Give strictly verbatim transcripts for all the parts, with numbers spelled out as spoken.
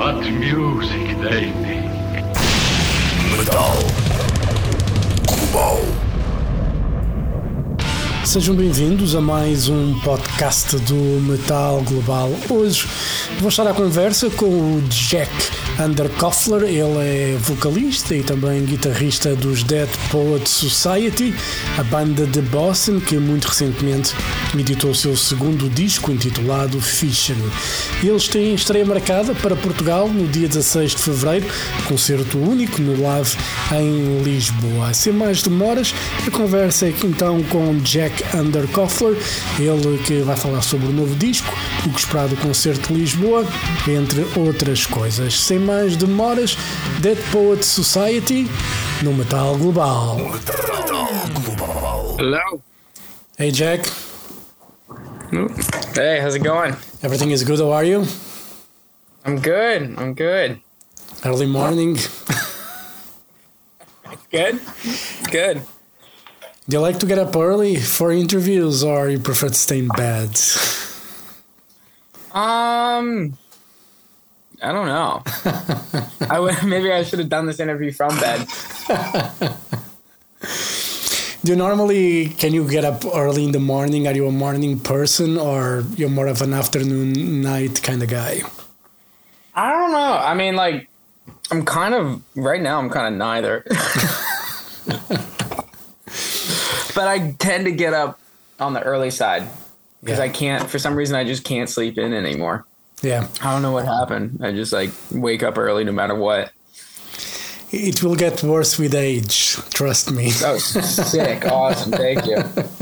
What music they make. Metal Global. Sejam bem-vindos a mais um podcast do Metal Global. Hoje vou estar à conversa com o Jack Underkoffler. Ele é vocalista e também guitarrista dos Dead Poets Society, a banda de Boston que muito recentemente editou o seu segundo disco intitulado Fission. Eles têm estreia marcada para Portugal no dia dezasseis de fevereiro, concerto único no Live em Lisboa. Sem mais demoras, a conversa é aqui então com Jack Underkoffler, ele que vai falar sobre o novo disco, o que esperar do concerto de Lisboa, entre outras coisas. Sem mais demoras, Dead Poets Society no Metal Global. Hello. Hey Jack. Hey, how's it going? Everything is good, how are you? I'm good. I'm good. Early morning. Good. Good. Do you like to get up early for interviews or you prefer to stay in bed? Um, I don't know. I would, maybe I should have done this interview from bed. Do you normally, can you get up early in the morning? Are you a morning person or you're more of an afternoon, night kind of guy? I don't know. I mean, like, I'm kind of, right now, I'm kind of neither. But I tend to get up on the early side because Yeah. I can't, for some reason, I just can't sleep in anymore. Yeah. I don't know what happened. I just like wake up early no matter what. It will get worse with age, trust me. Oh, sick. Awesome. Thank you.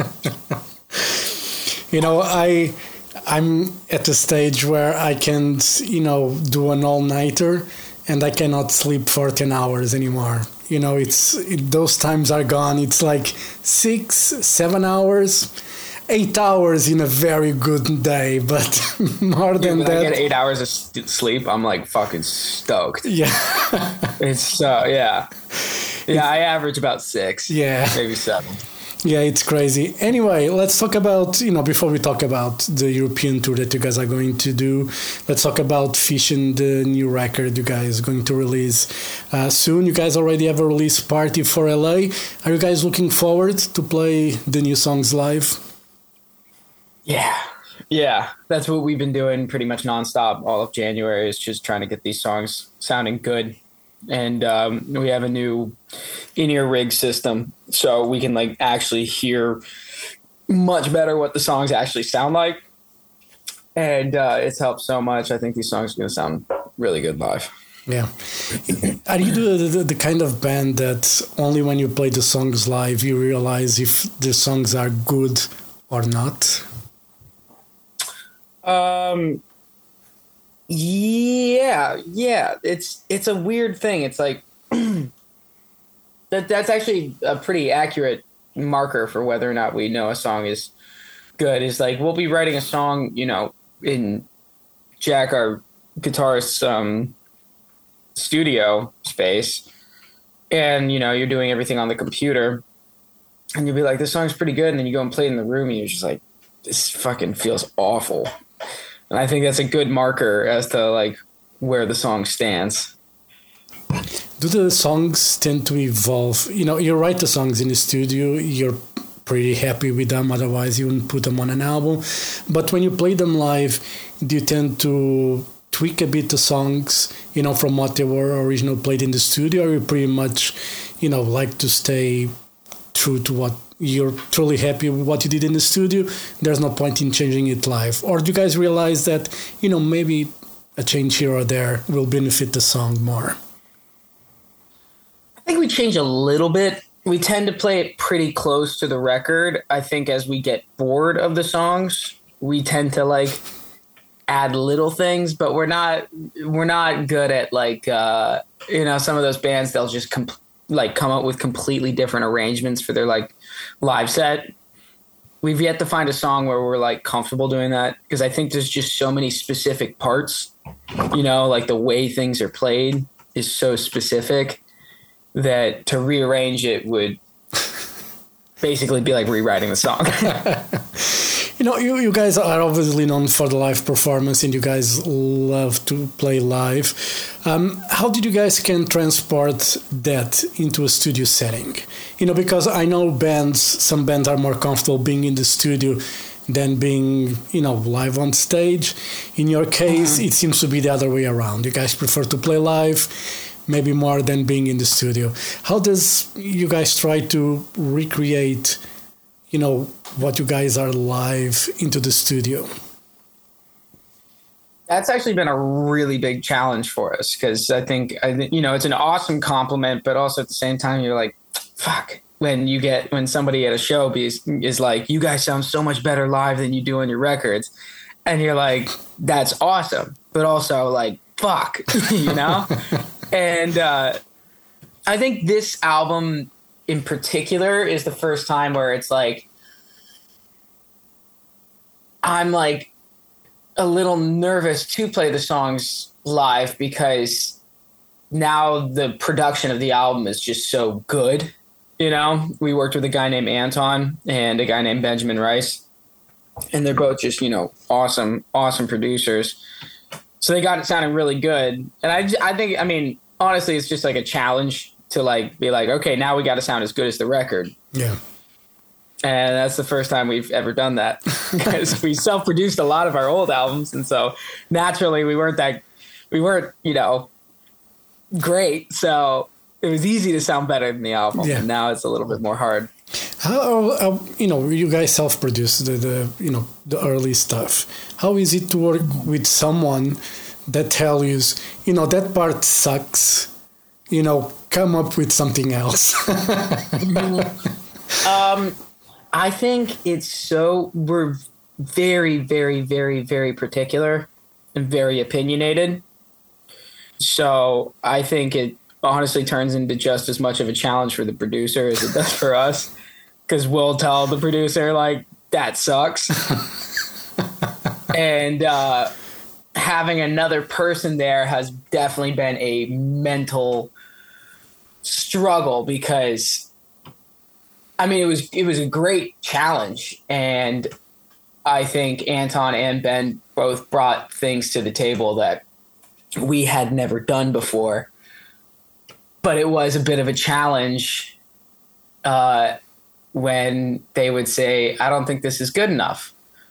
You know, I, I'm at a stage where I can, you know, do an all-nighter and I cannot sleep for ten hours anymore. You know, it's it, those times are gone. It's like six, seven hours, eight hours in a very good day, but more than When that. I get eight hours of st- sleep, I'm like fucking stoked. Yeah. It's so, yeah. Yeah, I average about six. Yeah. Maybe seven. Yeah, it's crazy. Anyway, let's talk about, you know, before we talk about the European tour that you guys are going to do, let's talk about Fission, the new record you guys are going to release uh, soon. You guys already have a release party for L A. Are you guys looking forward to play the new songs live? Yeah. Yeah. That's what we've been doing pretty much nonstop all of January is just trying to get these songs sounding good. And um, we have a new in-ear rig system so we can like actually hear much better what the songs actually sound like. And uh, it's helped so much. I think these songs are going to sound really good live. Yeah. Are you the, the, the kind of band that only when you play the songs live you realize if the songs are good or not? Um, yeah, yeah. It's it's a weird thing. It's like that. That's actually a pretty accurate marker for whether or not we know a song is good. Is like we'll be writing a song, you know, in Jack, our guitarist's um, studio space, and you know you're doing everything on the computer, and you'll be like, "This song's pretty good," and then you go and play it in the room, and you're just like, "This fucking feels awful." And I think that's a good marker as to like where the song stands. Do the songs tend to evolve? You know, you write the songs in the studio, you're pretty happy with them, otherwise you wouldn't put them on an album. But when you play them live, do you tend to tweak a bit the songs, you know, from what they were originally played in the studio, or you pretty much, you know, like to stay true to what you're truly happy with what you did in the studio? There's no point in changing it live. Or do you guys realize that, you know, maybe a change here or there will benefit the song more? I think we change a little bit. We tend to play it pretty close to the record. I think as we get bored of the songs, we tend to like add little things, but we're not we're not good at like uh, you know, some of those bands, they'll just comp- like come up with completely different arrangements for their like live set. We've yet to find a song where we're like comfortable doing that because I think there's just so many specific parts, you know, like the way things are played is so specific that to rearrange it would basically be like rewriting the song. You know, you, you guys are obviously known for the live performance, and you guys love to play live. Um, how did you guys can transport that into a studio setting? You know, because I know bands, some bands are more comfortable being in the studio than being, you know, live on stage. In your case, mm-hmm. it seems to be the other way around. You guys prefer to play live, maybe more than being in the studio. How does you guys try to recreate, you know, what you guys are live into the studio? That's actually been a really big challenge for us, because I think, I think, you know, it's an awesome compliment, but also at the same time, you're like, fuck. When you get, when somebody at a show is, is like, you guys sound so much better live than you do on your records. And you're like, that's awesome. But also like, fuck, you know? And uh, I think this album in particular is the first time where it's like, I'm like a little nervous to play the songs live, because now the production of the album is just so good. You know, we worked with a guy named Anton and a guy named Benjamin Rice, and they're both just, you know, awesome, awesome producers. So they got it sounding really good. And I, I think, I mean, honestly, it's just like a challenge to like be like, okay, now we got to sound as good as the record. Yeah. And that's the first time we've ever done that, because we self-produced a lot of our old albums. And so naturally we weren't that, we weren't, you know, great. So it was easy to sound better than the album. Yeah. And now it's a little bit more hard. How, how, you know, you guys self-produced the, the, you know, the early stuff. How is it to work with someone that tells you, you know, that part sucks, you know, come up with something else? um, I think it's so, we're very, very, very, very particular and very opinionated. So I think it honestly turns into just as much of a challenge for the producer as it does for us, because we'll tell the producer like, that sucks. And uh, having another person there has definitely been a mental struggle, because I mean, it was, it was a great challenge. And I think Anton and Ben both brought things to the table that we had never done before. But it was a bit of a challenge uh, when they would say, I don't think this is good enough.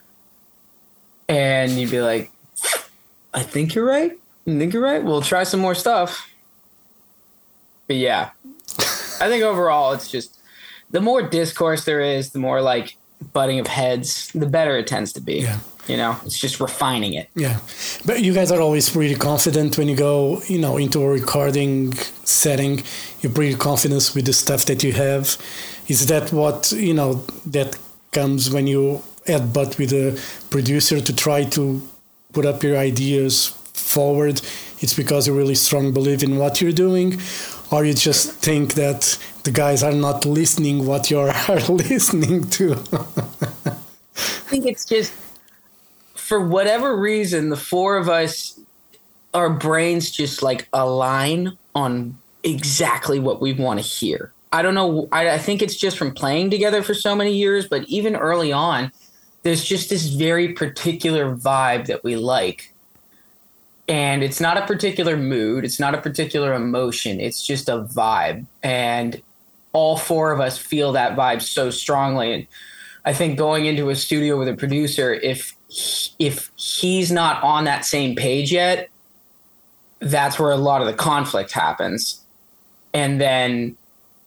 And you'd be like, I think you're right. I think you're right. We'll try some more stuff. But yeah, I think overall it's just, the more discourse there is, the more like butting of heads, the better it tends to be. Yeah. You know, it's just refining it. Yeah. But you guys are always pretty confident when you go, you know, into a recording setting. You're pretty confident with the stuff that you have. Is that what, you know, that comes when you headbutt with a producer to try to put up your ideas forward? It's because you really strong believe in what you're doing? Or you just think that the guys are not listening what you're listening to? I think it's just, for whatever reason, the four of us, our brains just like align on exactly what we want to hear. I don't know. I, I think it's just from playing together for so many years, but even early on, there's just this very particular vibe that we like. And it's not a particular mood. It's not a particular emotion. It's just a vibe. And all four of us feel that vibe so strongly. And I think going into a studio with a producer, if if he's not on that same page yet, that's where a lot of the conflict happens. And then,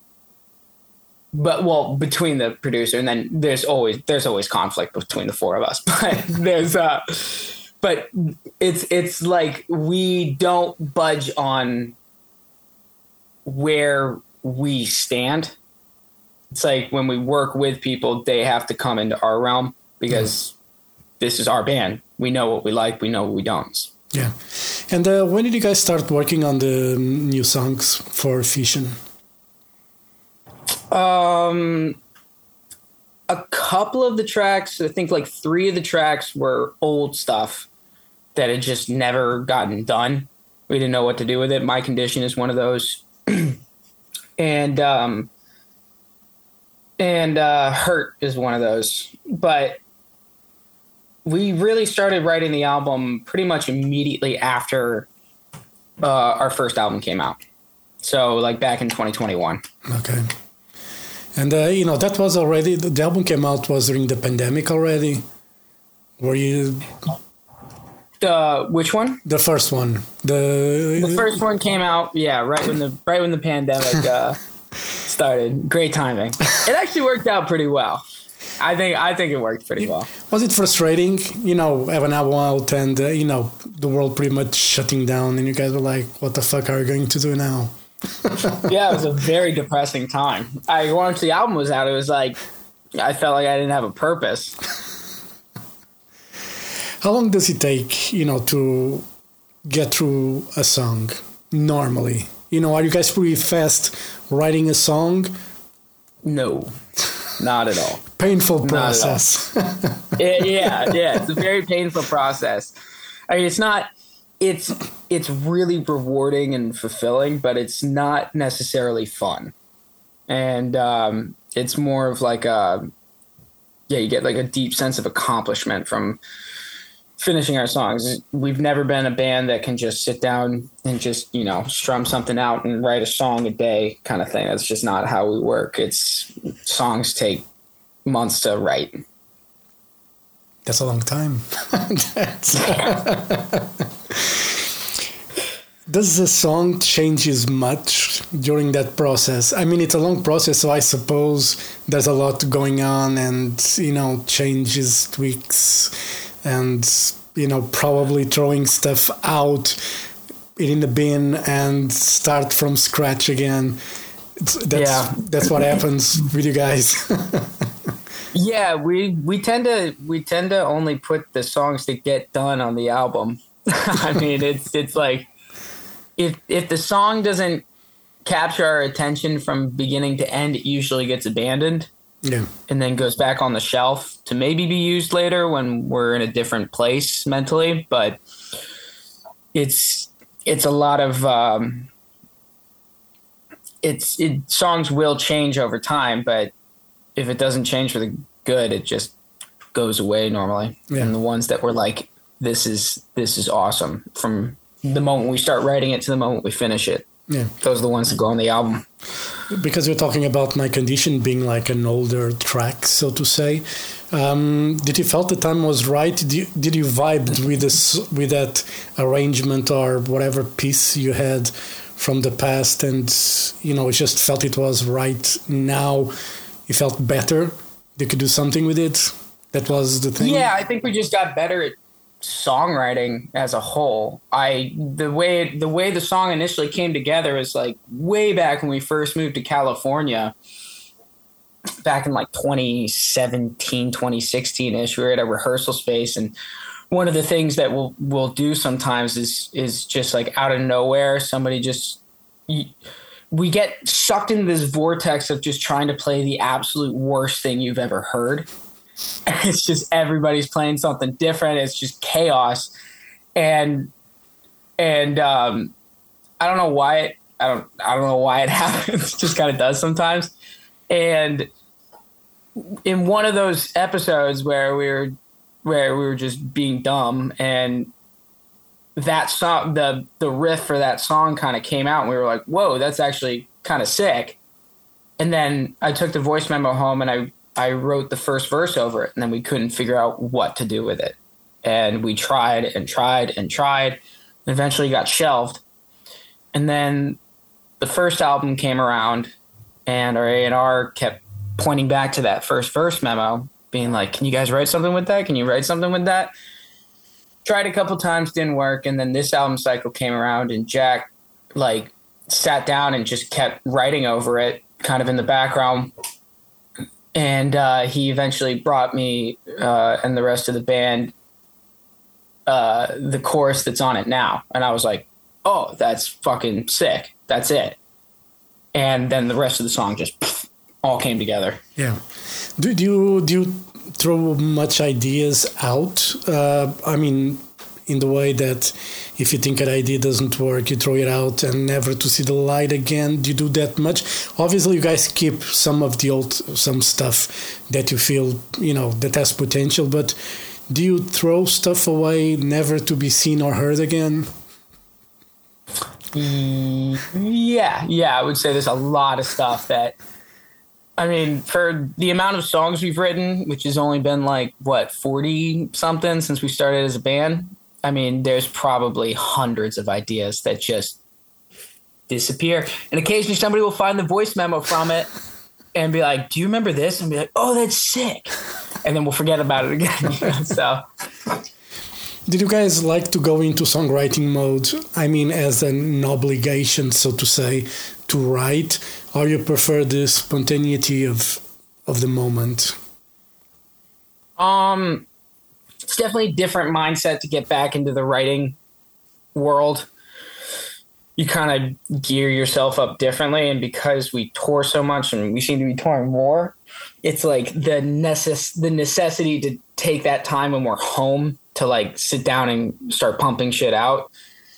but well, between the producer, and then there's always there's always conflict between the four of us. But there's uh, but it's it's like we don't budge on where we stand. It's like when we work with people, they have to come into our realm, because mm. this is our band. We know what we like. We know what we don't. Yeah. And uh, when did you guys start working on the new songs for Fission? Um, a couple of the tracks, I think like three of the tracks were old stuff that had just never gotten done. We didn't know what to do with it. My Condition is one of those. and, um, and uh, Hurt is one of those. But we really started writing the album pretty much immediately after uh, our first album came out. So like back in twenty twenty-one. Okay. And, uh, you know, that was already, the album came out was during the pandemic already. Were you... Uh, which one? The first one. The the first one came out, yeah, right when the right when the pandemic uh, started. Great timing. It actually worked out pretty well. I think I think it worked pretty well. Was it frustrating, you know, have an album out and, uh, you know, the world pretty much shutting down and you guys were like, what the fuck are we going to do now? Yeah, it was a very depressing time. I once the album was out, it was like, I felt like I didn't have a purpose. How long does it take, you know, to get through a song normally? You know, are you guys pretty fast writing a song? No, not at all. Painful process. it, yeah, yeah, it's a very painful process. I mean, it's not, it's, it's really rewarding and fulfilling, but it's not necessarily fun. And um, it's more of like a, yeah, you get like a deep sense of accomplishment from finishing our songs. We've never been a band that can just sit down and just, you know, strum something out and write a song a day kind of thing. That's just not how we work. It's songs take months to write. That's a long time. Does the song changes much during that process? I mean, it's a long process, so I suppose there's a lot going on and, you know, changes, tweaks, and, you know, probably throwing stuff out in the bin and start from scratch again. It's, that's, yeah. that's what happens with you guys. Yeah, we, we tend to we tend to only put the songs that get done on the album. I mean, it's it's like if if the song doesn't capture our attention from beginning to end, it usually gets abandoned. Yeah. And then goes back on the shelf to maybe be used later when we're in a different place mentally. But it's it's a lot of um, it's it, songs will change over time, but if it doesn't change for the good, it just goes away normally. Yeah. And the ones that were like, this is this is awesome from the moment we start writing it to the moment we finish it. Yeah, those are the ones that go on the album. Because you're talking about My Condition being like an older track, so to say. Um, did you felt the time was right? Did you, did you vibe with this with that arrangement or whatever piece you had from the past, and you know, it just felt it was right now? You felt better. You could do something with it. That was the thing. Yeah, I think we just got better at songwriting as a whole. I the way the way the song initially came together is like way back when we first moved to California, back in like twenty seventeen, twenty sixteen ish. We were at a rehearsal space, and one of the things that we'll we'll do sometimes is is just like out of nowhere, somebody just we get sucked into this vortex of just trying to play the absolute worst thing you've ever heard. It's just everybody's playing something different. It's just chaos, and and um, I don't know why it. I don't. I don't know why it happens. It just kind of does sometimes. And in one of those episodes where we were where we were just being dumb, and that song, the the riff for that song, kind of came out, and we were like, "Whoa, that's actually kind of sick." And then I took the voice memo home, and I. I wrote the first verse over it, and then we couldn't figure out what to do with it. And we tried and tried and tried, and eventually got shelved. And then the first album came around, and our A and R kept pointing back to that first verse memo, being like, can you guys write something with that? Can you write something with that? Tried a couple times, didn't work. And then this album cycle came around, and Jack like sat down and just kept writing over it kind of in the background. And uh, he eventually brought me uh, and the rest of the band uh, the chorus that's on it now. And I was like, oh, that's fucking sick. That's it. And then the rest of the song just pff, all came together. Yeah. Do, do, you, do you throw much ideas out? Uh, I mean, in the way that if you think an idea doesn't work, you throw it out and never to see the light again. Do you do that much? Obviously, you guys keep some of the old, some stuff that you feel, you know, that has potential, but do you throw stuff away never to be seen or heard again? Yeah, yeah, I would say there's a lot of stuff that, I mean, for the amount of songs we've written, which has only been like, what, forty something since we started as a band. I mean, there's probably hundreds of ideas that just disappear. And occasionally somebody will find the voice memo from it and be like, do you remember this? And be like, oh, that's sick. And then we'll forget about it again. So, did you guys like to go into songwriting mode? I mean, as an obligation, so to say, to write, or you prefer the spontaneity of of the moment? Um, it's definitely a different mindset to get back into the writing world. You kind of gear yourself up differently, and because we tour so much and we seem to be touring more, it's like the necess- the necessity to take that time when we're home to like sit down and start pumping shit out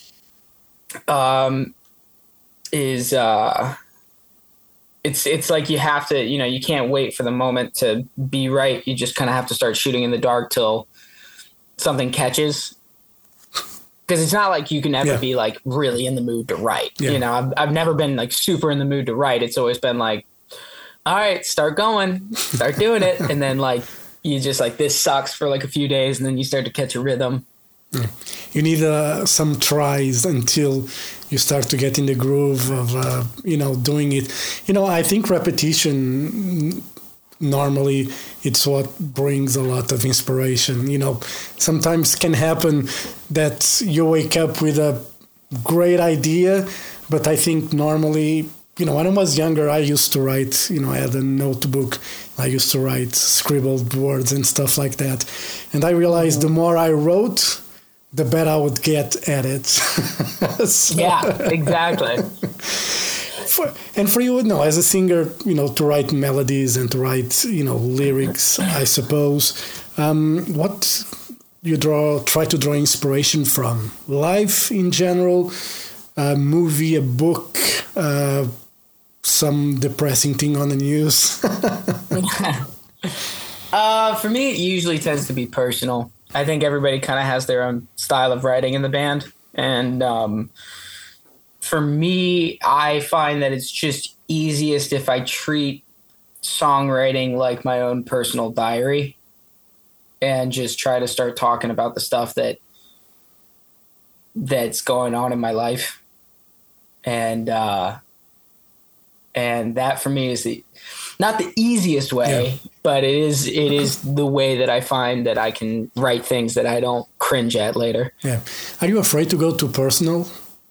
um, is uh, it's it's like you have to, you know, you can't wait for the moment to be right. You just kind of have to start shooting in the dark till something catches. Because it's not like you can ever yeah. be like really in the mood to write. Yeah. You know, I've, I've never been like super in the mood to write. It's always been like, all right, start going, start doing it. And then like, you just like, this sucks for like a few days. And then you start to catch a rhythm. Yeah. You need uh, some tries until you start to get in the groove of, uh, you know, doing it. You know, I think repetition, normally it's what brings a lot of inspiration. You know, sometimes can happen that you wake up with a great idea, but I think normally, you know, when I was younger, I used to write, you know, I had a notebook, I used to write scribbled words and stuff like that. And I realized the more I wrote, the better I would get at it. So, yeah, exactly. For, and for you, no, as a singer, you know, to write melodies and to write, you know, lyrics, I suppose. Um, what you draw, try to draw inspiration from? Life in general, a movie, a book, uh, some depressing thing on the news? uh, for me, it usually tends to be personal. I think everybody kind of has their own style of writing in the band. And um, for me, I find that it's just easiest if I treat songwriting like my own personal diary and just try to start talking about the stuff that that's going on in my life. And uh, and that for me is the not the easiest way, yeah. but it is it is the way that I find that I can write things that I don't cringe at later. Yeah. Are you afraid to go too personal?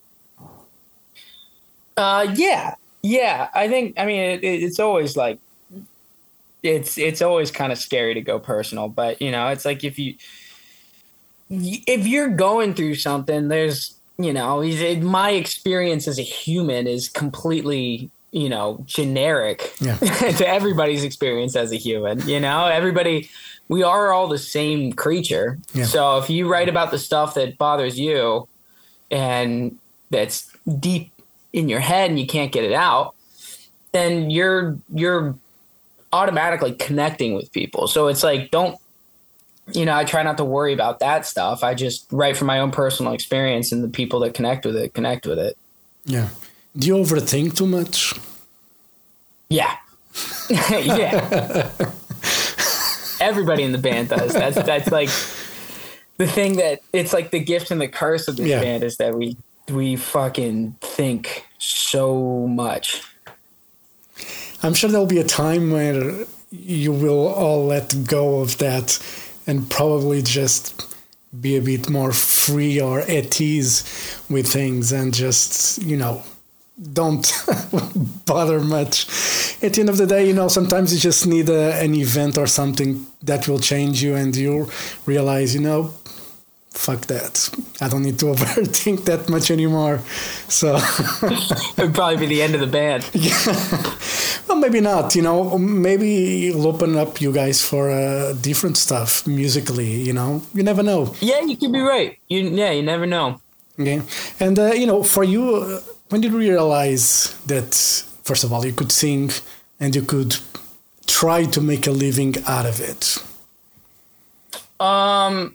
Uh, yeah, yeah. I think. I mean, it, it's always like it's it's always kind of scary to go personal, but you know, it's like if you if you're going through something, there's you know, my experience as a human is completely, you know, generic yeah. to everybody's experience as a human. You know, everybody, we are all the same creature. Yeah. So if you write about the stuff that bothers you and that's deep in your head and you can't get it out, then you're you're automatically connecting with people. So it's like, don't, you know, I try not to worry about that stuff. I just write from my own personal experience, and the people that connect with it connect with it. Yeah. Do you overthink too much? Yeah. Yeah. Everybody in the band does. That's that's like the thing that it's like the gift and the curse of this yeah. band is that we we fucking think so much. I'm sure there'll be a time where you will all let go of that and probably just be a bit more free or at ease with things and just, you know, don't bother much. At the end of the day, you know, sometimes you just need a, an event or something that will change you and you realize, you know, fuck that. I don't need to overthink that much anymore. So it would probably be the end of the band. Yeah. Well, maybe not, you know, maybe it'll open up you guys for uh, different stuff musically, you know, you never know. Yeah, you could be right. You, yeah, you never know. Okay. And, uh, you know, for you, uh, when did you realize that, first of all, you could sing and you could try to make a living out of it? Um,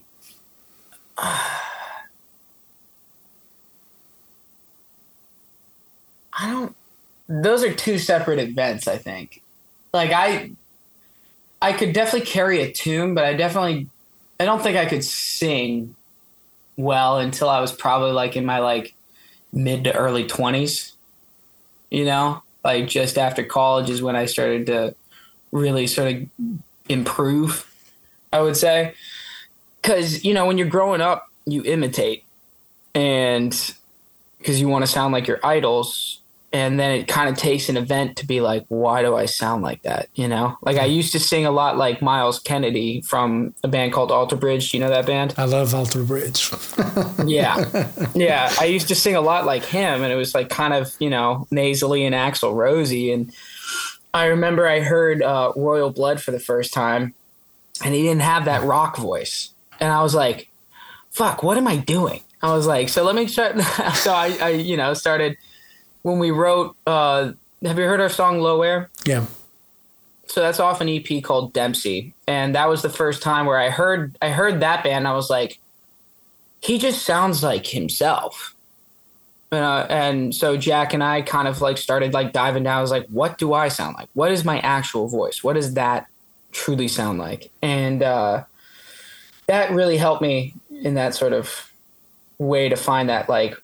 I don't. Those are two separate events, I think. Like I, I could definitely carry a tune, but I definitely, I don't think I could sing well until I was probably like in my like mid to early twenties. You know, like just after college is when I started to really sort of improve, I would say. Because, you know, when you're growing up, you imitate, and because you want to sound like your idols. And then it kind of takes an event to be like, why do I sound like that? You know, like I used to sing a lot like Miles Kennedy from a band called Alter Bridge. Do you know that band? I love Alter Bridge. Yeah. Yeah. I used to sing a lot like him, and it was like kind of, you know, nasally and Axl Rosy. And I remember I heard uh, Royal Blood for the first time, and he didn't have that rock voice. And I was like, fuck, what am I doing? I was like, so let me try. So I, I, you know, started. When we wrote, uh, have you heard our song Low Air? Yeah. So that's off an E P called Dempsey. And that was the first time where I heard I heard that band. And I was like, he just sounds like himself. Uh, and so Jack and I kind of like started like diving down. I was like, what do I sound like? What is my actual voice? What does that truly sound like? And uh, that really helped me in that sort of way to find that like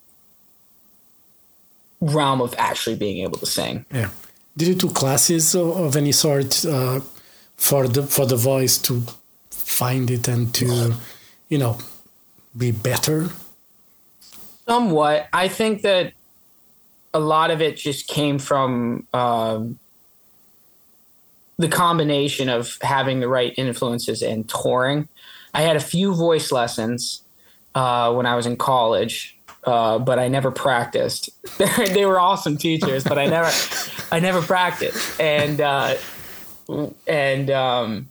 realm of actually being able to sing. Yeah. Did you do classes of, of any sort uh, for the for the voice to find it and to, you know, be better? Somewhat. I think that a lot of it just came from um, the combination of having the right influences and touring. I had a few voice lessons uh, when I was in college. Uh, but I never practiced. They were awesome teachers, but I never, I never practiced. And uh, and um,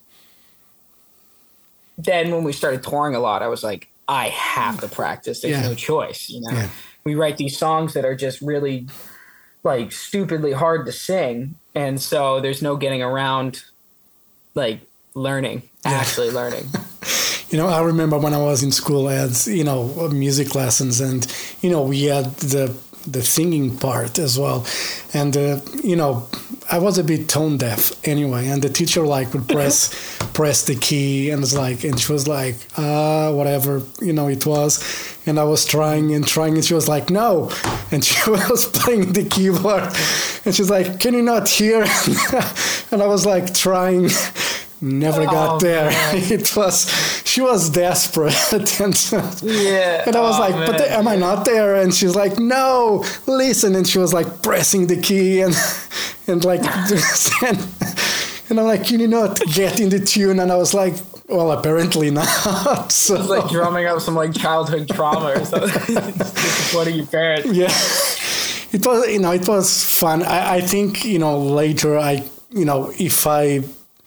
then when we started touring a lot, I was like, I have to practice. There's yeah. no choice. You know, yeah. We write these songs that are just really like stupidly hard to sing, and so there's no getting around like learning, yeah. actually learning. You know, I remember when I was in school, I had, you know, music lessons, and, you know, we had the the singing part as well. And, uh, you know, I was a bit tone deaf anyway, and the teacher, like, would press press the key, and it's like, and she was like, ah, uh, whatever, you know, it was. And I was trying and trying, and she was like, no. And she was playing the keyboard, and she's like, can you not hear? And I was like trying. Never got oh, there. Man. It was, she was desperate. and, yeah. And I was oh, like, man. but am I not there? And she's like, no, listen. And she was like pressing the key and, and like, and, and I'm like, can you not get in the tune? And I was like, well, apparently not. So. It's like drumming up some like childhood trauma or something. Disappointing your parents. Yeah. It was, you know, it was fun. I, I think, you know, later I, you know, if I,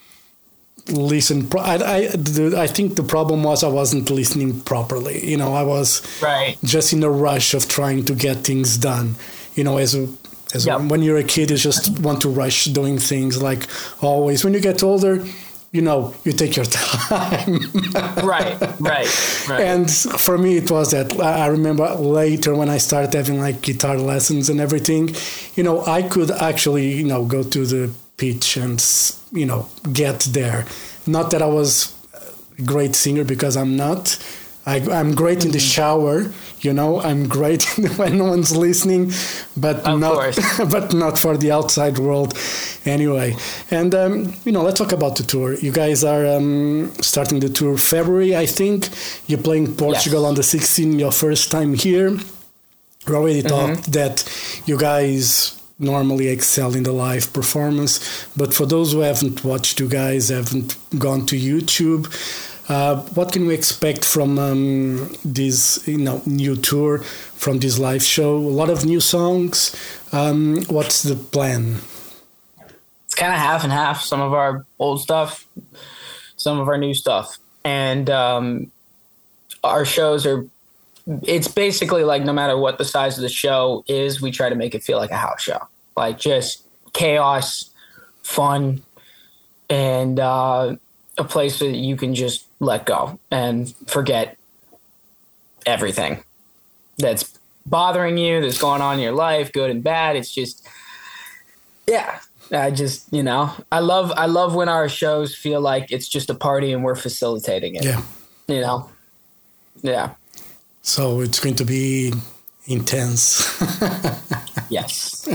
listen I, I, the, I think the problem was I wasn't listening properly. You know, I was right. just in a rush of trying to get things done. You know, as a, as yep. a, when you're a kid, you just want to rush doing things like always. When you get older, you know, you take your time. right, right, right. And for me, it was that. I remember later when I started having like guitar lessons and everything, you know, I could actually, you know, go to the pitch and, you know, get there. Not that I was a great singer, because I'm not. I, I'm great in the shower, you know. I'm great when no one's listening, but of not, course. but not for the outside world, anyway. And um, you know, let's talk about the tour. You guys are um, starting the tour February, I think. You're playing Portugal yes. on the sixteenth, your first time here. We already mm-hmm. talked that you guys normally excel in the live performance, but for those who haven't watched you guys, haven't gone to YouTube, uh, what can we expect from um, this, you know, new tour, from this live show? A lot of new songs. Um, what's the plan? It's kind of half and half. Some of our old stuff, some of our new stuff, and um, our shows are. It's basically like no matter what the size of the show is, we try to make it feel like a house show. Like just chaos, fun, and uh, a place that you can just let go and forget everything that's bothering you, that's going on in your life, good and bad. It's just, yeah, I just, you know, I love, I love when our shows feel like it's just a party and we're facilitating it. Yeah. You know? Yeah. So it's going to be intense. Yes.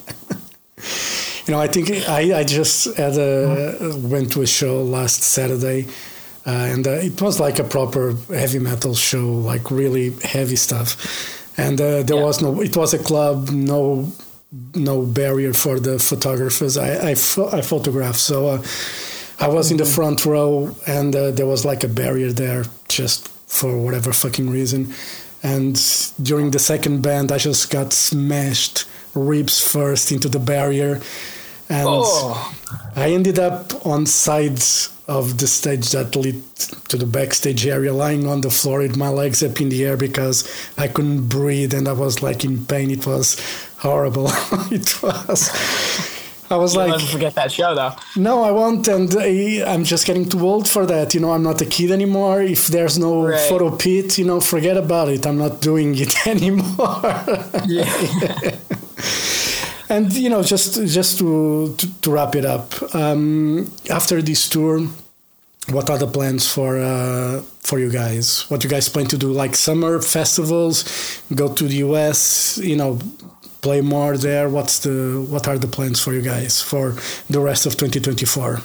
You know, I think I, I just had a, went to a show last Saturday, uh, and uh, it was like a proper heavy metal show, like really heavy stuff. And uh, there yeah. was no, it was a club, no no barrier for the photographers. I, I, pho- I photographed, so uh, I was in the front row, and uh, there was like a barrier there just for whatever fucking reason. And during the second band, I just got smashed ribs first into the barrier, and oh. I ended up on sides of the stage that led to the backstage area, lying on the floor with my legs up in the air because I couldn't breathe and I was like in pain. It was horrible. It was. I was You'll like, never forget that show, though. No, I won't, and I, I'm just getting too old for that. You know, I'm not a kid anymore. If there's no right. photo pit, you know, forget about it. I'm not doing it anymore. Yeah. And you know, just just to to, to wrap it up, um, after this tour, what are the plans for uh, for you guys? What you guys plan to do? Like summer festivals, go to the U S, you know, play more there. What's the what are the plans for you guys for the rest of twenty twenty-four?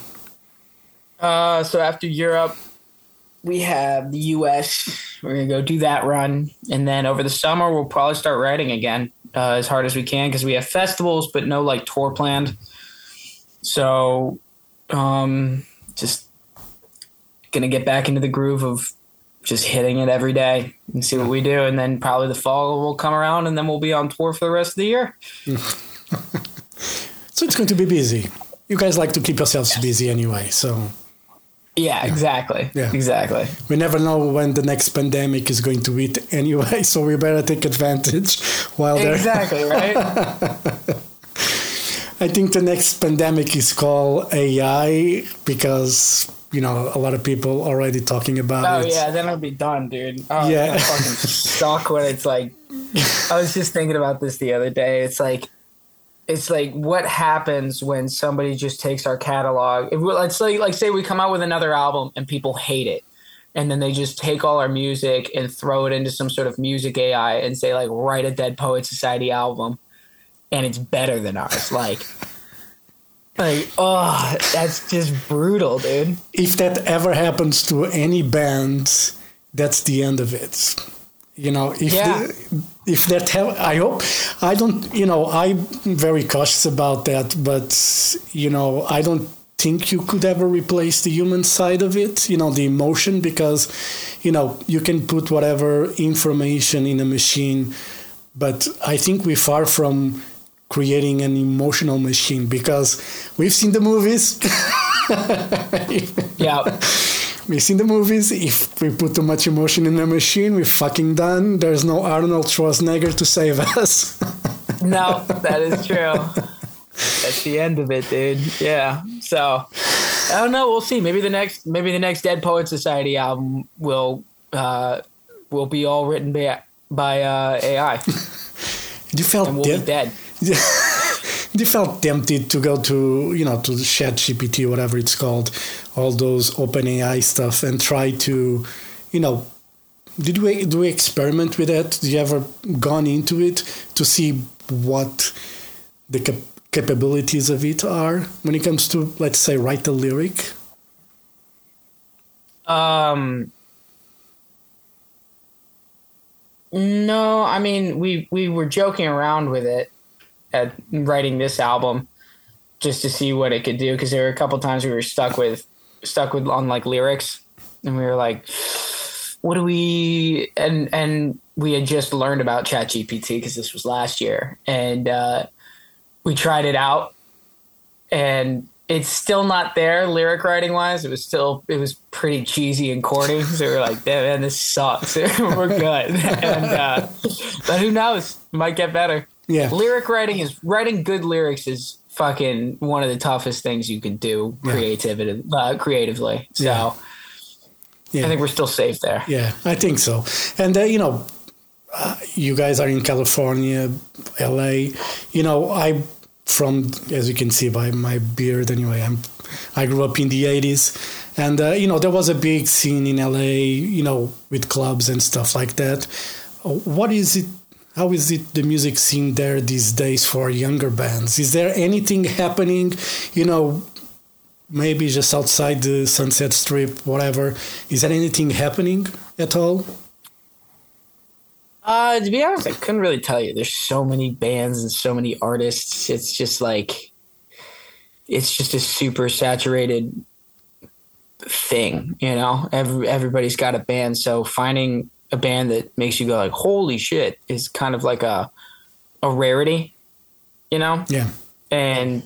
Uh, so after Europe, we have the U S. We're gonna go do that run, and then over the summer we'll probably start writing again uh, as hard as we can because we have festivals, but no like tour planned. So, um, just gonna get back into the groove of just hitting it every day and see what we do, and then probably the fall will come around, and then we'll be on tour for the rest of the year. So it's going to be busy. You guys like to keep yourselves yes. busy anyway, so. Yeah, exactly. Yeah. Exactly. We never know when the next pandemic is going to hit anyway, so we better take advantage while there. Exactly, right? I think the next pandemic is called A I because, you know, a lot of people already talking about oh, it. Oh, yeah, then it'll be done, dude. Oh, yeah. I'm fucking stuck when it's like, I was just thinking about this the other day. It's like, It's like what happens when somebody just takes our catalog. If we, let's like, like say we come out with another album and people hate it, and then they just take all our music and throw it into some sort of music A I and say like write a Dead Poets Society album, and it's better than ours. Like, like oh, that's just brutal, dude. If that ever happens to any band, that's the end of it. You know, if yeah. the, if that ha- I hope I don't. You know, I'm very cautious about that. But you know, I don't think you could ever replace the human side of it. You know, the emotion, because you know you can put whatever information in a machine, but I think we're far from creating an emotional machine because we've seen the movies. Yeah. We've seen the movies. If we put too much emotion in a machine, we're fucking done. There's no Arnold Schwarzenegger to save us. No, that is true. That's the end of it, dude. Yeah. So I don't know. We'll see. Maybe the next, maybe the next Dead Poets Society album will uh, will be all written by by uh, A I. You felt and we'll de- be dead. You felt tempted to go to, you know, to ChatGPT, whatever it's called, all those OpenAI stuff, and try to, you know, did we do we experiment with that? Did you ever gone into it to see what the cap- capabilities of it are when it comes to, let's say, write a lyric? Um. No, I mean we we were joking around with it at writing this album just to see what it could do, because there were a couple times we were stuck with stuck with on like lyrics, and we were like, what do we and and we had just learned about ChatGPT because this was last year, and uh, we tried it out, and it's still not there lyric writing wise. It was still it was pretty cheesy and corny. So we were like, damn, man, this sucks. We're good. And uh, but who knows? It might get better. Yeah. Lyric writing is writing good lyrics is fucking one of the toughest things you can do Yeah. creativity, uh, creatively. So Yeah. Yeah. I think we're still safe there. Yeah, I think so. And, uh, you know, uh, you guys are in California, L A. You know, I, from, as you can see by my beard anyway, I'm, I grew up in the eighties. And, uh, you know, there was a big scene in L A, you know, with clubs and stuff like that. What is it? How is it the music scene there these days for younger bands? Is there anything happening, you know, maybe just outside the Sunset Strip, whatever? Is there anything happening at all? Uh, to be honest, I couldn't really tell you. There's so many bands and so many artists. It's just like, it's just a super saturated thing, you know? Every, everybody's got a band. So finding a band that makes you go like, holy shit, is kind of like a, a rarity, you know? Yeah. And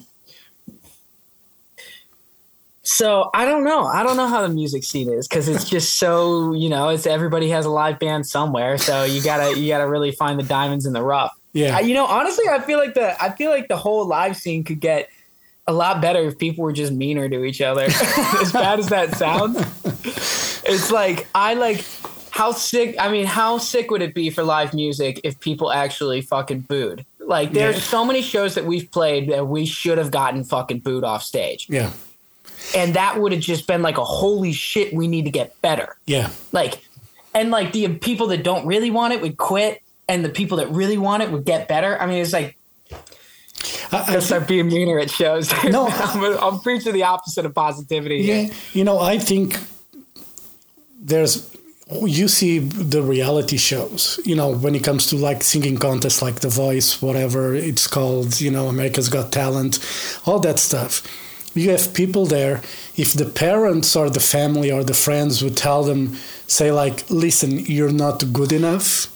so I don't know. I don't know how the music scene is because it's just so, you know, it's everybody has a live band somewhere. So you gotta you gotta really find the diamonds in the rough. Yeah. I, you know, honestly, I feel like the I feel like the whole live scene could get a lot better if people were just meaner to each other. As bad as that sounds, it's like I like how sick. I mean, how sick would it be for live music if people actually fucking booed? Like, there's Yeah. so many shows that we've played that we should have gotten fucking booed off stage. Yeah. And that would have just been like a holy shit, we need to get better. Yeah. Like, and like the people that don't really want it would quit, and the people that really want it would get better. I mean, it's like, I, I I start being meaner at shows. No, I'm, I'm preaching the opposite of positivity. Yeah, here. you know, I think there's, you see the reality shows, you know, when it comes to like singing contests like The Voice, whatever it's called, you know, America's Got Talent, all that stuff. You have people there, if the parents or the family or the friends would tell them, say like, listen, you're not good enough.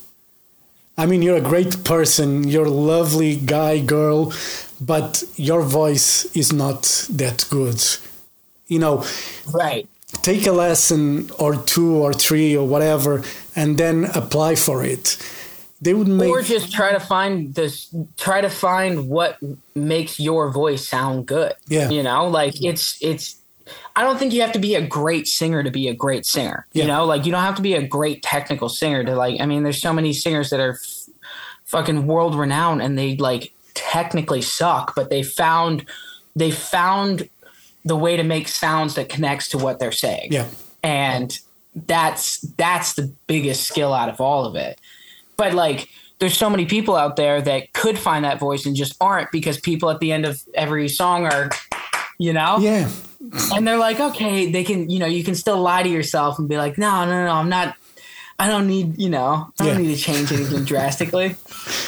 I mean, you're a great person, you're a lovely guy, girl, but your voice is not that good. You know, Right. take a lesson or two or three or whatever, and then apply for it. They would make, Or just try to find this, try to find what makes your voice sound good. Yeah. You know, like it's, it's, I don't think you have to be a great singer to be a great singer. Yeah. You know, like you don't have to be a great technical singer to like, I mean, there's so many singers that are f- fucking world renowned and they like technically suck, but they found, they found the way to make sounds that connects to what they're saying. yeah, And that's, that's the biggest skill out of all of it. But like, there's so many people out there that could find that voice and just aren't, because people at the end of every song are, you know, yeah, and they're like, okay, they can, you know, you can still lie to yourself and be like, no, no, no, I'm not, I don't need, you know, I don't Yeah. need to change anything drastically.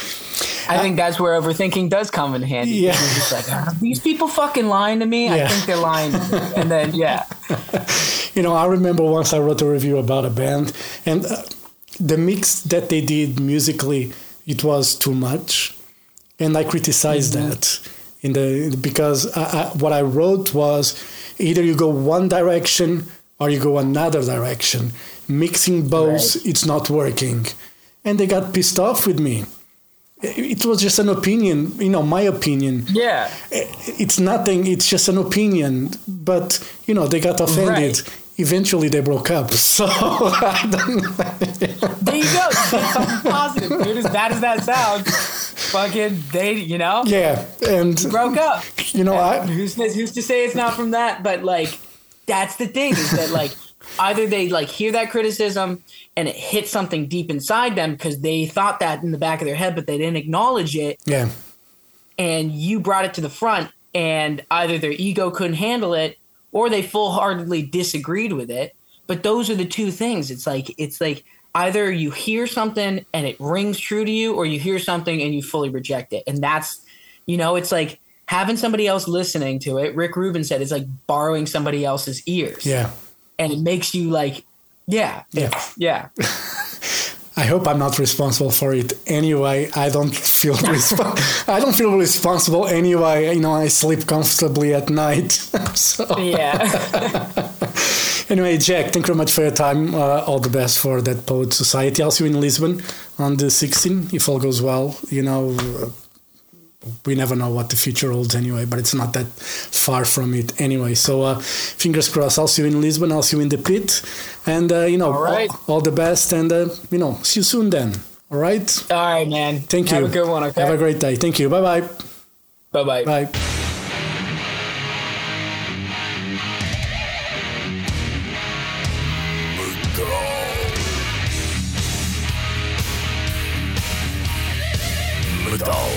I think that's where overthinking does come in handy. Yeah. You're just like, are these people fucking lying to me? Yeah. I think they're lying to me. And then, yeah. You know, I remember once I wrote a review about a band, and uh, the mix that they did musically, it was too much, and I criticized Mm-hmm. that in the because I, I, what I wrote was either you go one direction or you go another direction. Mixing both, Right. it's not working, and they got pissed off with me. It was just an opinion, you know, my opinion. Yeah. It's nothing, it's just an opinion. But, you know, they got offended. Right. Eventually they broke up. So, I don't There you go. You did something positive, dude. As bad as that sounds, fucking, they, you know, yeah. And, broke up. you know, I, Who's, who's to say it's not from that? But like, that's the thing is that like, either they like hear that criticism and it hits something deep inside them because they thought that in the back of their head, but they didn't acknowledge it. yeah, And you brought it to the front, and either their ego couldn't handle it or they full-heartedly disagreed with it. But those are the two things. It's like, it's like either you hear something and it rings true to you, or you hear something and you fully reject it. And that's, you know, it's like having somebody else listening to it. Rick Rubin said it's like borrowing somebody else's ears. yeah. And it makes you like, yeah, Yeah. yeah. I hope I'm not responsible for it anyway. I don't feel resp- I don't feel responsible anyway. You know, I sleep comfortably at night. So Yeah. anyway, Jack, thank you very much for your time. Uh, all the best for that Poet Society. I'll see you in Lisbon on the sixteenth, if all goes well. You know, uh, we never know what the future holds anyway, but it's not that far from it anyway. So uh, fingers crossed. I'll see you in Lisbon. I'll see you in the pit, and uh, you know, all, right. all, all the best, and uh, you know, see you soon then. All right. All right, man. Thank you. Have a good one. Okay. Have a great day. Thank you. Bye bye. Bye bye. Bye. Metal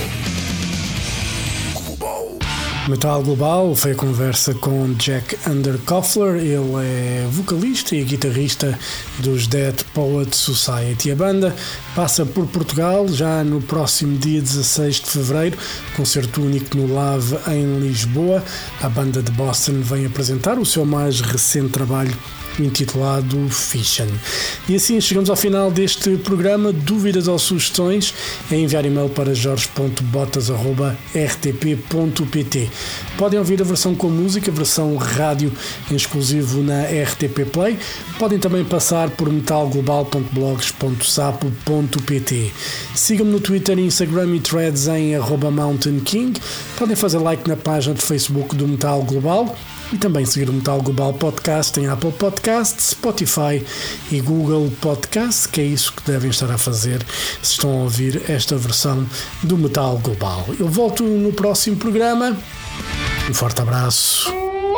Global. Metal Global foi a conversa com Jack Underkoffler. Ele é vocalista e guitarrista dos Dead Poets Society. A banda passa por Portugal já no próximo dia dezasseis de fevereiro, concerto único no Lave em Lisboa. A banda de Boston vem apresentar o seu mais recente trabalho intitulado Fission. E assim chegamos ao final deste programa. Dúvidas ou sugestões é enviar e-mail para jorge ponto botas arroba r t p ponto p t. Podem ouvir a versão com música, a versão rádio em exclusivo na R T P Play. Podem também passar por metal global ponto blogs ponto sapo ponto p t. Sigam-me no Twitter, Instagram e Threads em arroba Mountain King. Podem fazer like na página de Facebook do Metal Global e também seguir o Metal Global Podcast em Apple Podcasts, Spotify e Google Podcasts, que é isso que devem estar a fazer se estão a ouvir esta versão do Metal Global. Eu volto no próximo programa. Um forte abraço.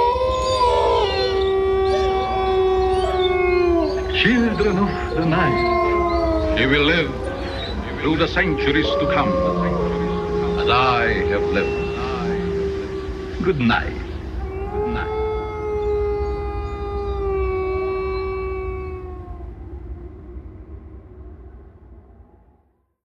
Children of the night, you will live through the centuries to come, as I have lived. Good night.